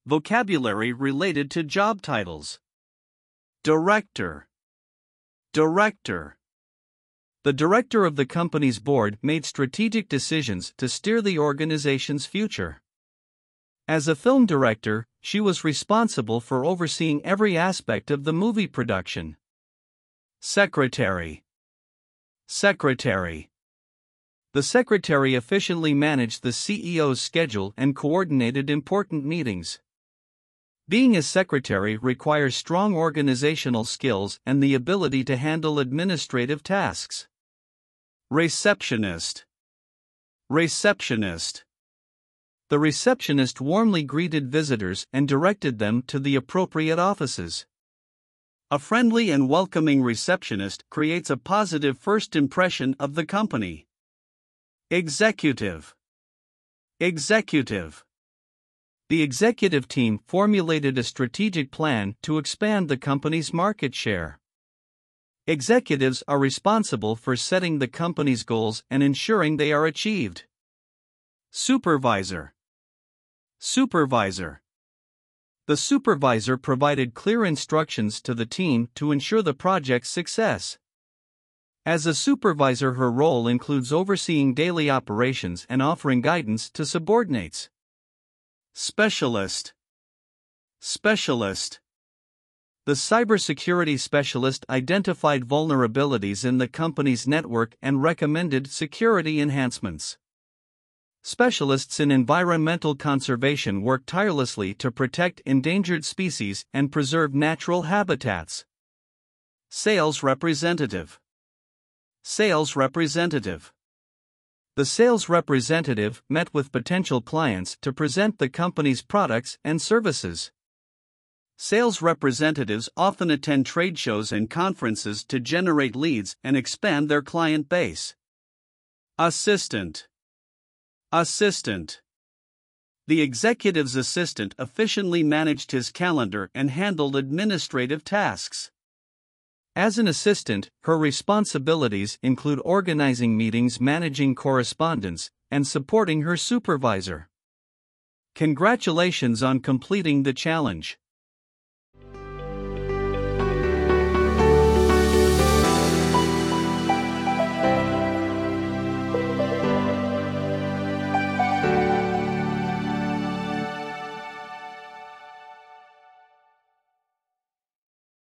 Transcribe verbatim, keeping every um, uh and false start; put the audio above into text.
vocabulary related to job titles. Director. Director. The director of the company's board made strategic decisions to steer the organization's future. As a film director, she was responsible for overseeing every aspect of the movie production. Secretary. Secretary. The secretary efficiently managed the C E O's schedule and coordinated important meetings. Being a secretary requires strong organizational skills and the ability to handle administrative tasks. Receptionist. Receptionist. The receptionist warmly greeted visitors and directed them to the appropriate offices. A friendly and welcoming receptionist creates a positive first impression of the company. Executive. Executive. The executive team formulated a strategic plan to expand the company's market share. Executives are responsible for setting the company's goals and ensuring they are achieved. Supervisor. Supervisor. The supervisor provided clear instructions to the team to ensure the project's success. As a supervisor, her role includes overseeing daily operations and offering guidance to subordinates. Specialist. Specialist. The cybersecurity specialist identified vulnerabilities in the company's network and recommended security enhancements. Specialists in environmental conservation work tirelessly to protect endangered species and preserve natural habitats. Sales representative. Sales representative. The sales representative met with potential clients to present the company's products and services. Sales representatives often attend trade shows and conferences to generate leads and expand their client base. Assistant. Assistant. The executive's assistant efficiently managed his calendar and handled administrative tasks. As an assistant, her responsibilities include organizing meetings, managing correspondence, and supporting her supervisor. Congratulations on completing the challenge.